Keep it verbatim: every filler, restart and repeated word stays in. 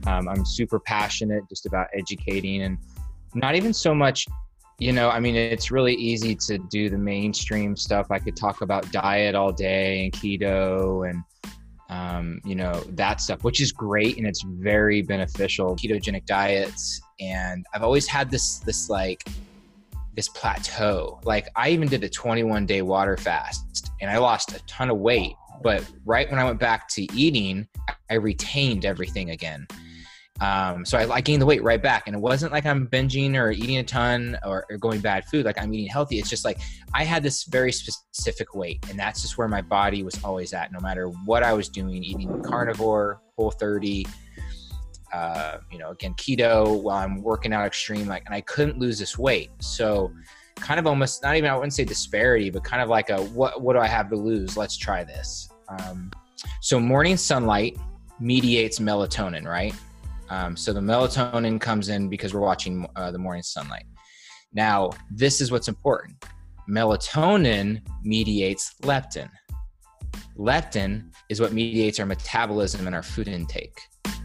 Um, I'm super passionate just about educating, and not even so much, you know, I mean, it's really easy to do the mainstream stuff. I could talk about diet all day and keto and, um, you know, that stuff, which is great. And it's very beneficial, ketogenic diets. And I've always had this, this like, this plateau. Like I even did a twenty-one day water fast and I lost a ton of weight, but right when I went back to eating, I retained everything again. Um, so I, I gained the weight right back, and it wasn't like I'm binging or eating a ton or, or going bad food. Like I'm eating healthy. It's just like I had this very specific weight, and that's just where my body was always at, no matter what I was doing, eating carnivore, Whole thirty, uh, you know, again, keto while I'm working out extreme, like, and I couldn't lose this weight. So kind of almost not even, I wouldn't say disparity, but kind of like a, what, what do I have to lose? Let's try this. Um, so morning sunlight mediates melatonin, right? Um, so the melatonin comes in because we're watching uh, the morning sunlight. Now, this is what's important. Melatonin mediates leptin. Leptin is what mediates our metabolism and our food intake.